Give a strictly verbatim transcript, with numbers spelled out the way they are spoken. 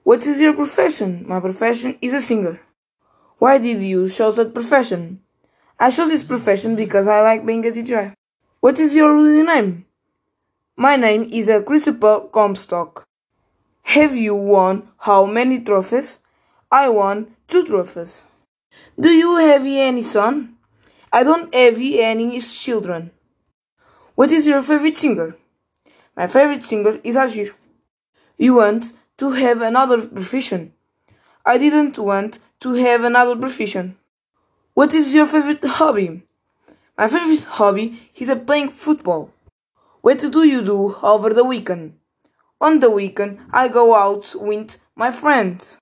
What is your profession? My profession is a singer. Why did you choose that profession? I chose this profession because I like being a D J. What is your real name? My name is a Christopher Comstock. Have you won how many trophies? I won two trophies. Do you have any son? I don't have any children. What is your favorite singer? My favorite singer is Agir. You want to have another profession? I didn't want to have another profession. What is your favorite hobby? My favorite hobby is playing football. What do you do over the weekend? On the weekend, I go out with my friends.